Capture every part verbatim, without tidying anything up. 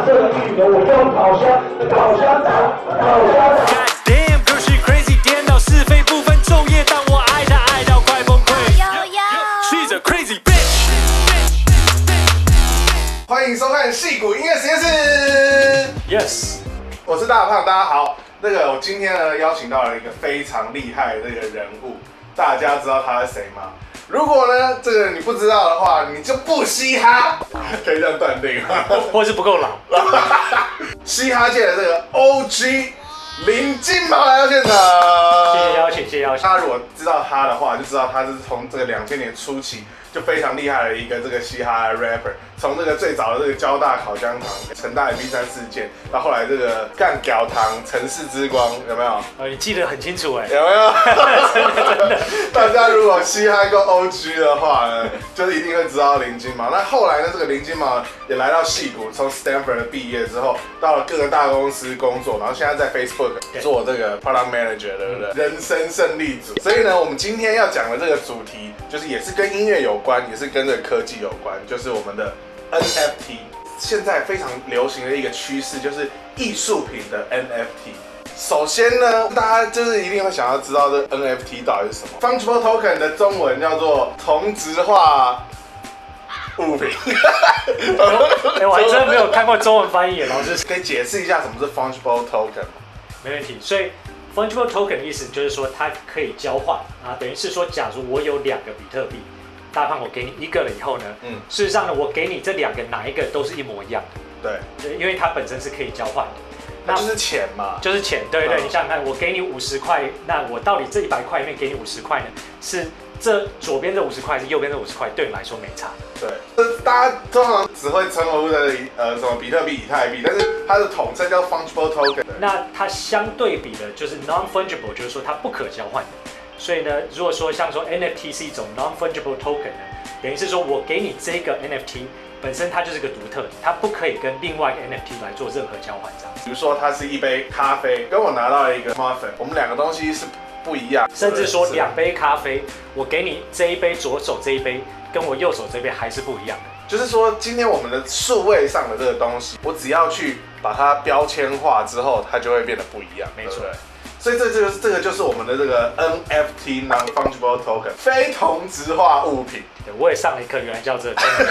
这个玉呢，我用烤箱、烤箱打、烤箱打。 Damn girl she crazy， 颠倒是非不分昼夜，当我爱她爱到快崩溃。She's a crazy bitch。 欢迎收看戏骨音乐实验室。 Yes， 我是大胖，大家好。那个我今天呢邀请到了一个非常厉害的这个人物，大家知道他是谁吗？如果呢这个你不知道的话，你就不嘻哈，可以这样断定吗？ 或是不够老。 嘻哈界的这个 O G 林金毛来到现场， 谢谢邀请，谢谢邀请。 大家如果知道他的话，就知道他是从这个两千年初期就非常厉害的一个这个嘻哈的 rapper， 从这个最早的这个交大烤香糖、成大 M P 三事件，到后来这个干屌糖、城市之光，有没有？ 哦，你记得很清楚哎， 有没有？ 真的真的。 大家如果嘻哈够 O G 的话呢，就是一定会知道林金毛。那后来呢，这个林金毛也来到矽谷，从 Stanford 毕业之后，到了各个大公司工作，然后现在在 Facebook 做这个 Product Manager， 对不对？人生胜利组。所以呢，我们今天要讲的这个主题，就是也是跟音乐有关，也是跟这个科技有关，就是我们的 N F T。现在非常流行的一个趋势，就是艺术品的 N F T。首先呢，大家就是一定会想要知道这 N F T 到底是什么。Fungible Token 的中文叫做同质化物品。 哎，我还真的没有看过中文翻译，老师可以解释一下什么是 Fungible Token 吗？ 没问题。所以 Fungible Token 的意思就是说它可以交换啊，等于是说，假如我有两个比特币，大胖我给你一个了以后呢，嗯，事实上呢，我给你这两个哪一个都是一模一样的。对，因为它本身是可以交换的。 那就是钱嘛， 就是钱，对对，你想想看，我给你五十块，那我到底这一百块里面给你五十块呢？是这左边这五十块，还是右边这五十块？对你来说没差。对， 大家通常只会称呼的呃什么比特币、以太币，但是它的统称叫 fungible token。 那它相对比的就是 non-fungible， 就是说它不可交换的。所以呢，如果说像说 N F T 是一种 non-fungible token 呢，等于是说我给你这个 N F T。本身它就是个独特的，它不可以跟另外一个 N F T 来做任何交换，这样。 比如说，它是一杯咖啡，跟我拿到了一个 muffin， 我们两个东西是不一样。 甚至说两杯咖啡，我给你这一杯左手这一杯，跟我右手这杯还是不一样的。 就是说，今天我们的数位上的这个东西，我只要去把它标签化之后，它就会变得不一样。 没错。 所以这就是这个就是我们的这个 N F T non-fungible token 非同质化物品。 我也上了一课，原来叫这。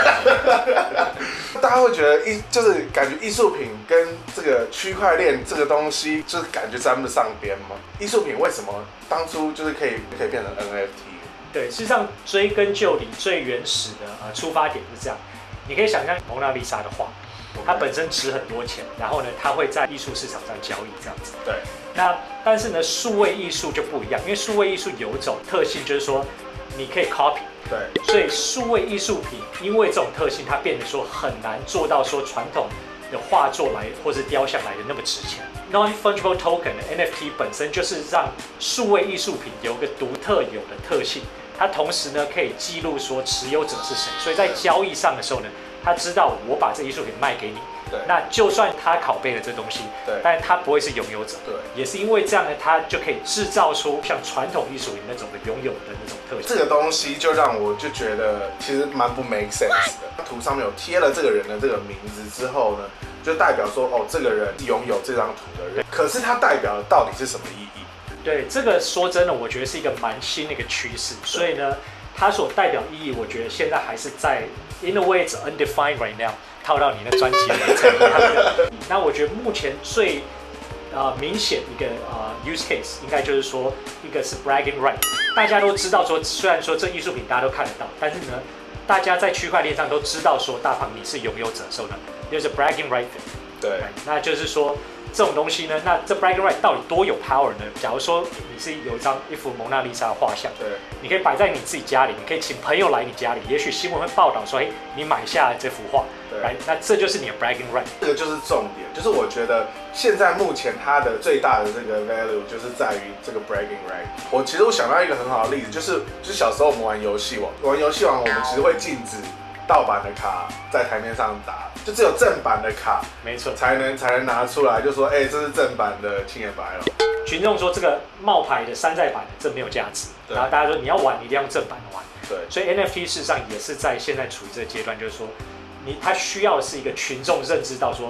大家会觉得艺就是感觉艺术品跟这个区块链这个东西，就是感觉沾不上边吗？艺术品为什么当初就是可以可以变成 N F T？ 对，事实上追根究底，最原始的呃出发点是这样。你可以想象蒙娜丽莎的画，它本身值很多钱，然后呢，它会在艺术市场上交易这样子。 对。 那但是呢，数位艺术就不一样，因为数位艺术有一种特性，就是说你可以 copy。 对。所以数位艺术品因为这种特性，它变得说很难做到说传统的画作来或是雕像来的那么值钱。Non-fungible token 的 N F T 本身就是让数位艺术品有一个独特有的特性，它同时呢可以记录说持有者是谁，所以在交易上的时候呢，他知道我把这艺术品卖给你。对，那就算他拷贝了这东西，对，但是他不会是拥有者，对，也是因为这样呢，他就可以制造出像传统艺术品那种的拥有的那种特性。 这个东西就让我就觉得其实蛮不 make sense 的。图上面有贴了这个人的这个名字之后呢，就代表说哦，这个人拥有这张图的人，可是它代表的到底是什么意义？ 对，这个说真的，我觉得是一个蛮新的一个趋势，所以呢，它所代表意义，我觉得现在还是在 in a way it's undefined right now。套到你的专辑里面，那我觉得目前最呃明显一个呃 use case 应该就是说，一个是 bragging right， 大家都知道说，虽然说这艺术品大家都看得到，但是呢，大家在区块链上都知道说，大胖你是拥有者的时候呢，就是 bragging right。 对， 那就是说这种东西呢，那这 bragging right 到底多有 power 呢？假如说你是有一张一幅蒙娜丽莎的画像，对，你可以摆在你自己家里，你可以请朋友来你家里，也许新闻会报道说，哎，你买下了这幅画。Right? 那这就是你的 bragging right， 这个就是重点，就是我觉得现在目前它的最大的这个 value 就是在于这个 bragging right。我其实我想到一个很好的例子，就是就是小时候我们玩游戏王，玩游戏王我们其实会禁止盗版的卡在台面上打，就只有正版的卡， 没错， 才能才能拿出来，就说哎、欸，这是正版的青眼白龙。 群众说这个冒牌的山寨版的这没有价值，然后大家说你要玩，你一定要用正版的玩。对，所以 N F T 事实上也是在现在处于这个阶段，就是说。你他需要的是一个群众认知到说，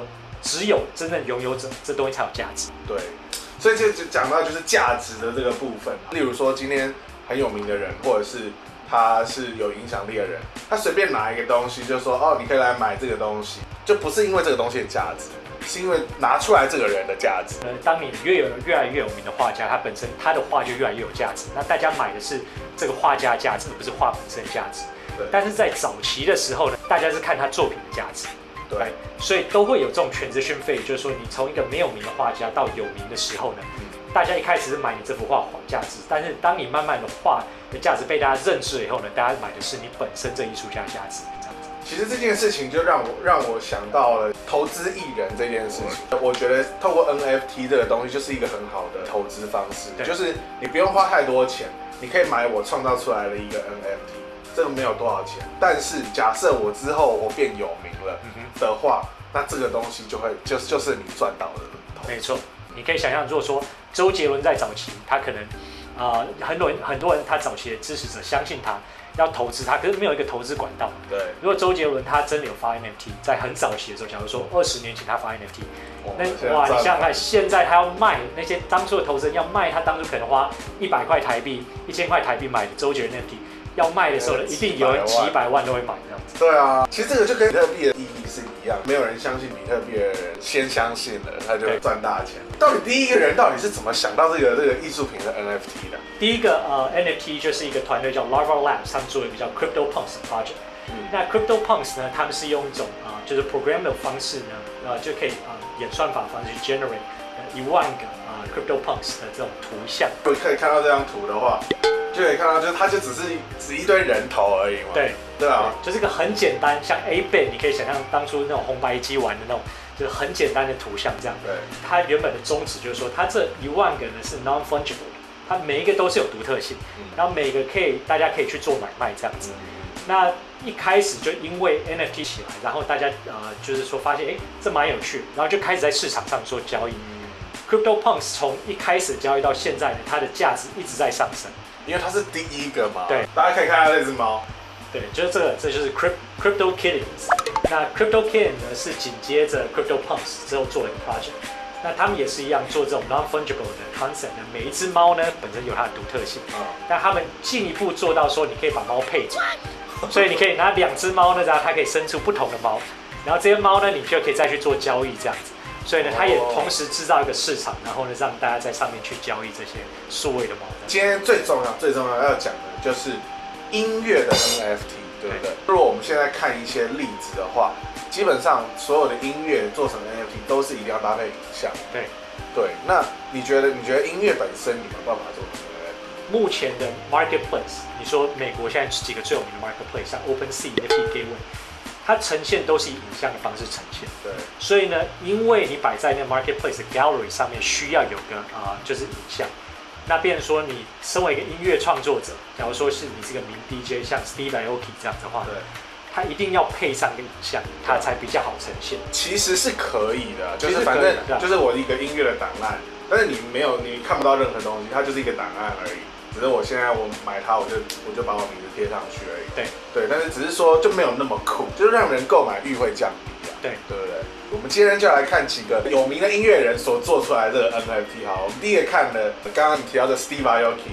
只有真正拥有者，这东西才有价值。 对，所以就讲到就是价值的这个部分。例如说今天很有名的人，或者是他是有影响力的人，他随便拿一个东西就说哦，你可以来买这个东西，就不是因为这个东西的价值，是因为拿出来这个人的价值。 呃，当你越有越来越有名的画家，他本身他的画就越来越有价值，那大家买的是这个画家的价值，而不是画本身的价值。但是在早期的时候呢，大家是看他作品的价值。 对， 所以都会有这种transition phase，就是说你从一个没有名的画家到有名的时候呢，嗯、大家一开始是买你这幅画价值，但是当你慢慢的画的价值被大家认知了以后呢，大家买的是你本身这艺术家的价值，这样子。 其实这件事情就让我让我想到了投资艺人这件事情。我觉得透过 N F T 这个东西就是一个很好的投资方式，就是你不用花太多钱，你可以买我创造出来的一个 N F T。这个没有多少钱，但是假设我之后我变有名了的话，那这个东西就会就就是你赚到的。 没错，你可以想象，如果说周杰伦在早期，他可能啊、呃、很多人很多人他早期的支持者相信他要投资他，可是没有一个投资管道。 对， 如果周杰伦他真的有发 N F T， 在很早期的时候，假如说二十年前他发 N F T， 那哇，你想想看，现在他要卖那些当初的投资人要卖他当初可能花一百块台币、一千块台币买的周杰伦 N F T。要卖的时候呢，一定有人几百万都会买这样子。 对啊，其实这个就跟比特币的意义是一样，没有人相信比特币的人先相信了，他就赚大钱。到底第一个人到底是怎么想到这个这个艺术品的 N F T 的？ 第一个呃 N F T 就是一个团队叫 Larva Labs， 他们做了一个叫 CryptoPunks 的 project。嗯、那 CryptoPunks 呢，他们是用一种啊、呃、就是 program 的方式呢，呃就可以啊、呃、演算法方式去 generate 一万个啊、呃、CryptoPunks 的这种图像。 可以看到这张图的话。就可以看到，就是它就只是只一堆人头而已嘛。 对， 对啊， 就是一个很简单，像 A B A， 你可以想象当初那种红白机玩的那种，就是很简单的图像这样。 对， 它原本的宗旨就是说，它这一万个呢是 non-fungible， 它每一个都是有独特性，嗯、然后每个可以大家可以去做买卖这样子。嗯、那一开始就因为 N F T 起来，然后大家呃就是说发现哎这蛮有趣，然后就开始在市场上做交易。嗯、CryptoPunks 从一开始交易到现在呢，它的价值一直在上升。 因为它是第一个嘛， 对， 大家可以看到这只猫， 对，就是这个，这就是 Crypto Kittens。那 Crypto Kitten 呢是紧接着 CryptoPunks 之后做了一个 project， 那他们也是一样做这种 non-fungible 的 concept 呢，每一只猫呢本身有它的独特性，嗯、但他们进一步做到说你可以把猫配种，所以你可以拿两只猫呢，然后它可以生出不同的猫，然后这些猫呢你就可以再去做交易这样子。所以呢，它也同时制造一个市场，然后呢，让大家在上面去交易这些数位的猫。 今天最重要、最重要要讲的就是音乐的 N F T， 对不对？如果我们现在看一些例子的话，基本上所有的音乐做成 N F T 都是一定要搭配影像。 对， 对。那你觉得，你觉得音乐本身你有办法做成 N F T？ 目前的 marketplace， 你说美国现在几个最有名的 marketplace， 像 OpenSea、N F T Gateway。它呈现都是以影像的方式呈现， 对， 所以呢，因为你摆在那个 marketplace 的 gallery 上面需要有个啊、呃，就是影像，那变成说你身为一个音乐创作者，假如说是你是个名 D J， 像 Steve Aoki 这样的话， 对， 它一定要配上个影像，它才比较好呈现。 其实是可以的，就是反正就是我一个音乐的档案，但是你没有，你看不到任何东西，它就是一个档案而已。只是我现在我买它，我就我就把我名字贴上去而已。 对对，但是只是说就没有那么酷，就是让人购买欲会降低啊。 对对不对？我们今天就来看几个有名的音乐人所做出来的这个 N F T。好，我们第一个看的，刚刚你提到的 Steve Aoki。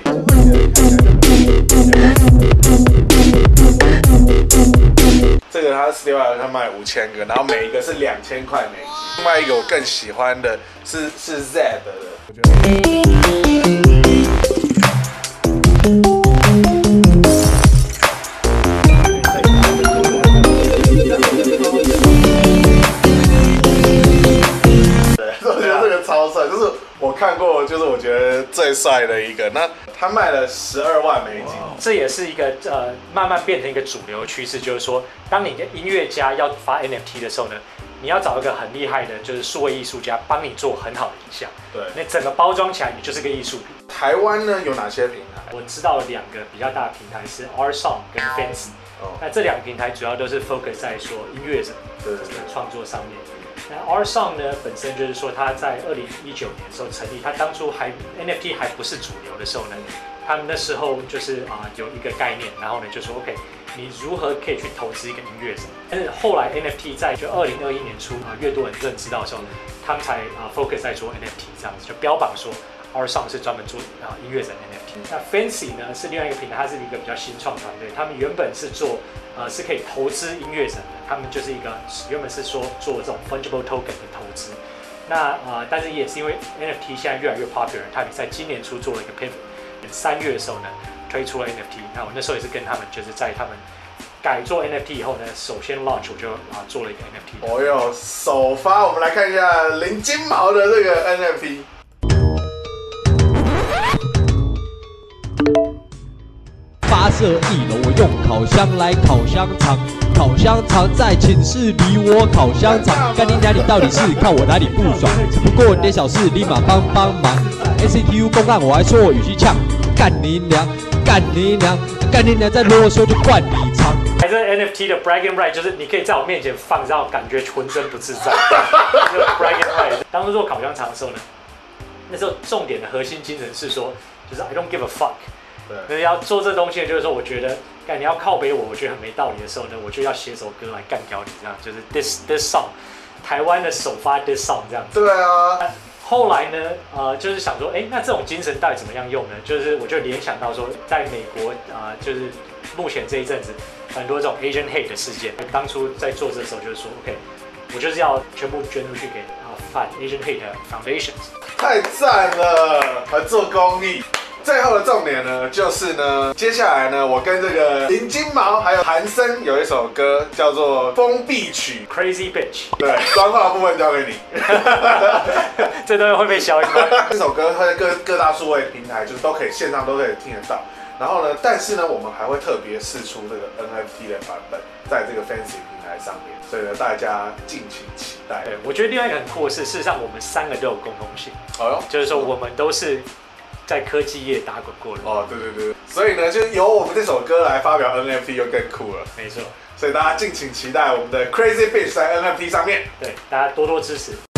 这个他 Steve Aoki 他卖五千个，然后每一个是两千块美金。另外一个我更喜欢的是是 Zed 的，我觉得。看过，就是我觉得最帅的一个，那他卖了十二万美金， 这也是一个呃慢慢变成一个主流趋势，就是说，当你的音乐家要发 N F T 的时候呢，你要找一个很厉害的，就是数位艺术家帮你做很好的影像， 对， 那整个包装起来，你就是个艺术品。 台湾呢有哪些平台？ 我知道两个比较大的平台是 Rsong 跟 Fancy，哦，那这两个平台主要都是 focus 在说音乐者的创作上面。那 Rsong 呢，本身就是说他在二零一九年的时候成立，他当初还 N F T 还不是主流的时候呢，他们那时候就是啊、呃、有一个概念，然后呢就说 OK， 你如何可以去投资一个音乐人。但是后来 N F T 在就二零二一年初啊，越多人认知到的时候，他们才啊 focus 在做 N F T 这样子，就标榜说 Our Song 是专门做啊音乐人 N F T。那 Fancy 呢是另外一个平台，它是一个比较新创团队，他们原本是做呃是可以投资音乐人的，他们就是一个原本是说做这种 fungible token 的投资。那呃，但是也是因为 N F T 现在越来越 popular， 他们在今年初做了一个 pivot， 三月的时候呢推出了 N F T。那我那时候也是跟他们就是在他们改做 N F T 以后呢，首先 launch 我就啊做了一个 N F T。 哦哟，首发我们来看一下林金毛的这个 N F T。 发射一楼，我用烤箱来烤香肠，烤香肠在寝室里我烤香肠，干你娘！你到底是看我哪里不爽？只不过点小事，立马帮帮忙。A C T U 公案我还说我语气呛，干你娘！干你娘！干你娘！再啰嗦就灌你肠。 还是 N F T 的 bragging right， 就是你可以在我面前放，让我感觉浑身不自在。就是 bragging right。当初做烤香肠的时候呢，那时候重点的核心精神是说，就是 I don't give a fuck。对，要做这东西，就是说，我觉得，干你要靠北我，我觉得很没道理的时候呢，我就要写首歌来干掉你，这样就是 this this song， 台湾的首发 this song 这样子。 对啊。 后来呢，呃，就是想说，哎，那这种精神到底怎么样用呢？就是我就联想到说，在美国啊、呃，就是目前这一阵子很多这种 Asian hate 的事件，当初在做这的时候就是说 ，OK， 我就是要全部捐出去给啊反 Asian hate foundations。 太赞了，还做公益。最后的重点呢，就是呢，接下来呢，我跟这个林金毛还有韩森有一首歌叫做《封闭曲》 ，Crazy Bitch。 对，脏话部分交给你。 这段会被消音吗？ 这首歌它在各各大数位平台就是都可以线上都可以听得到。然后呢，但是呢，我们还会特别释出这个 N F T 的版本，在这个 Fancy 平台上面，所以呢，大家敬请期待。 对，我觉得另外一个很酷的是，事实上我们三个都有共同性， 哦哟， 就是说我们都是在科技业打滚过的。 哦，对对对，所以呢，就是由我们这首歌来发表 N F T 就更酷了。 没错， 所以大家敬请期待我们的 Crazy Bitch 在 N F T 上面。 对，大家多多支持。